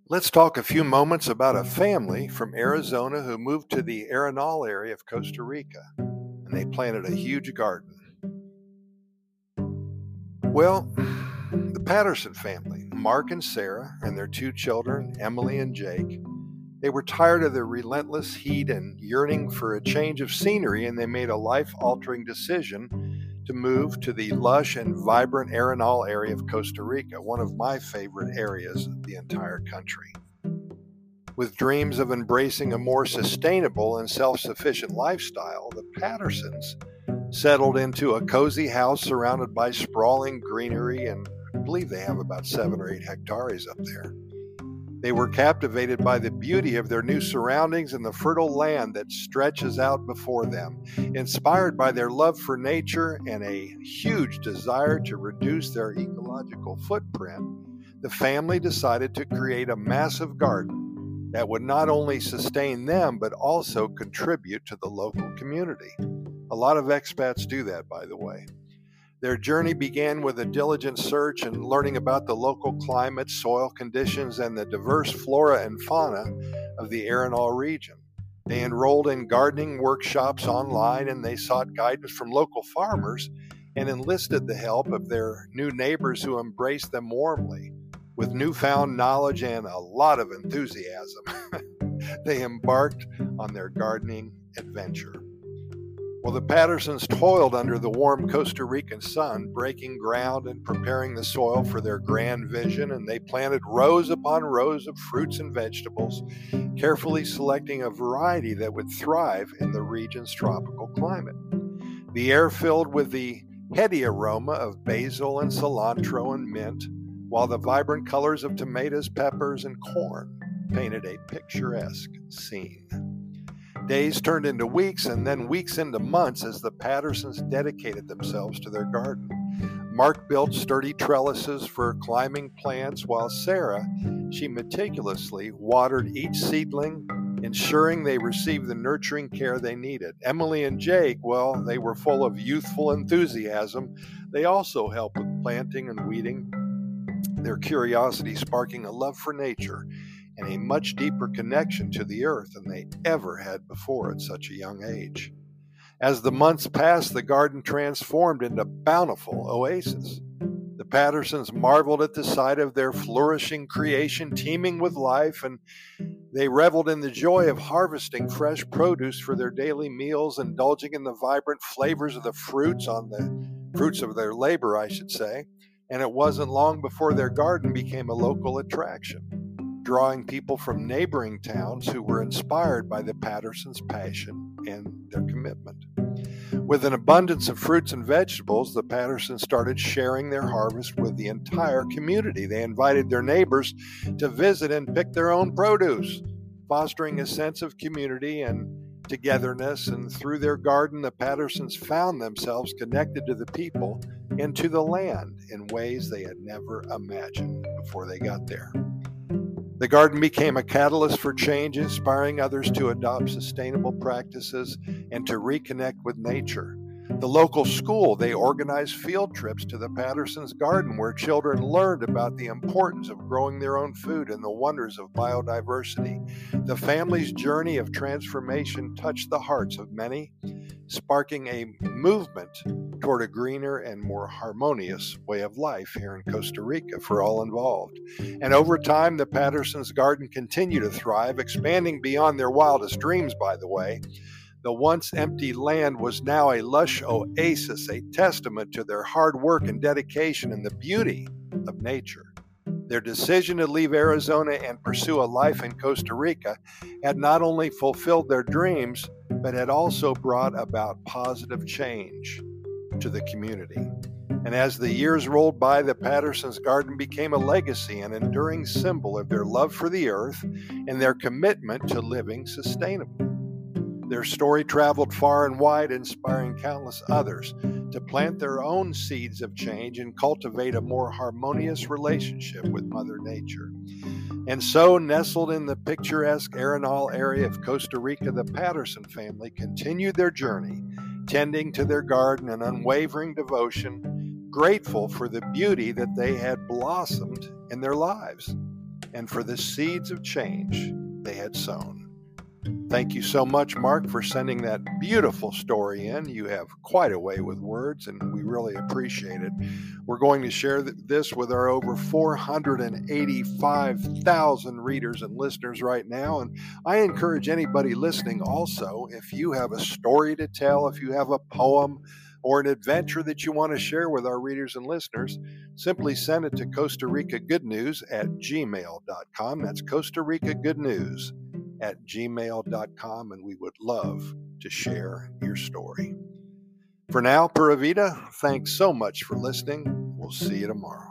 Let's talk a few moments about a family from Arizona who moved to the Arenal area of Costa Rica, and they planted a huge garden. Well, the Patterson family, Mark and Sarah, and their two children, Emily and Jake, they were tired of the relentless heat and yearning for a change of scenery, and they made a life-altering decision to move to the lush and vibrant Arenal area of Costa Rica, one of my favorite areas of the entire country. With dreams of embracing a more sustainable and self-sufficient lifestyle, the Pattersons settled into a cozy house surrounded by sprawling greenery, and I believe they have about 7 or 8 hectares up there. They were captivated by the beauty of their new surroundings and the fertile land that stretches out before them. Inspired by their love for nature and a huge desire to reduce their ecological footprint, the family decided to create a massive garden that would not only sustain them but also contribute to the local community. A lot of expats do that, by the way. Their journey began with a diligent search and learning about the local climate, soil conditions, and the diverse flora and fauna of the Arenal region. They enrolled in gardening workshops online, and they sought guidance from local farmers and enlisted the help of their new neighbors who embraced them warmly. With newfound knowledge and a lot of enthusiasm, they embarked on their gardening adventure. Well, the Pattersons toiled under the warm Costa Rican sun, breaking ground and preparing the soil for their grand vision, and they planted rows upon rows of fruits and vegetables, carefully selecting a variety that would thrive in the region's tropical climate. The air filled with the heady aroma of basil and cilantro and mint, while the vibrant colors of tomatoes, peppers, and corn painted a picturesque scene. Days turned into weeks, and then weeks into months as the Pattersons dedicated themselves to their garden. Mark built sturdy trellises for climbing plants, while Sarah, she meticulously watered each seedling, ensuring they received the nurturing care they needed. Emily and Jake, well, they were full of youthful enthusiasm. They also helped with planting and weeding, their curiosity sparking a love for nature and a much deeper connection to the earth than they ever had before at such a young age. As the months passed, the garden transformed into a bountiful oasis. The Pattersons marveled at the sight of their flourishing creation teeming with life, and they reveled in the joy of harvesting fresh produce for their daily meals, indulging in the vibrant flavors of the fruits of their labor, I should say. And it wasn't long before their garden became a local attraction, drawing people from neighboring towns who were inspired by the Pattersons' passion and their commitment. With an abundance of fruits and vegetables, the Pattersons started sharing their harvest with the entire community. They invited their neighbors to visit and pick their own produce, fostering a sense of community and togetherness. And through their garden, the Pattersons found themselves connected to the people and to the land in ways they had never imagined before they got there. The garden became a catalyst for change, inspiring others to adopt sustainable practices and to reconnect with nature. The local school, they organized field trips to the Pattersons' garden where children learned about the importance of growing their own food and the wonders of biodiversity. The family's journey of transformation touched the hearts of many, sparking a movement toward a greener and more harmonious way of life here in Costa Rica for all involved. And over time, the Pattersons' garden continued to thrive, expanding beyond their wildest dreams, by the way. The once empty land was now a lush oasis, a testament to their hard work and dedication and the beauty of nature. Their decision to leave Arizona and pursue a life in Costa Rica had not only fulfilled their dreams, but had also brought about positive change to the community. And as the years rolled by, the Pattersons' garden became a legacy, an enduring symbol of their love for the earth and their commitment to living sustainably. Their story traveled far and wide, inspiring countless others to plant their own seeds of change and cultivate a more harmonious relationship with Mother Nature. And so, nestled in the picturesque Arenal area of Costa Rica, the Patterson family continued their journey, tending to their garden in unwavering devotion, grateful for the beauty that they had blossomed in their lives. and for the seeds of change they had sown. Thank you so much, Mark, for sending that beautiful story in. You have quite a way with words, and we really appreciate it. We're going to share this with our over 485,000 readers and listeners right now. And I encourage anybody listening also, if you have a story to tell, if you have a poem or an adventure that you want to share with our readers and listeners, simply send it to Costa Rica Good News at gmail.com. That's Costa Rica Good News at gmail.com, and we would love to share your story. For now, Pura Vida, thanks so much for listening. We'll see you tomorrow.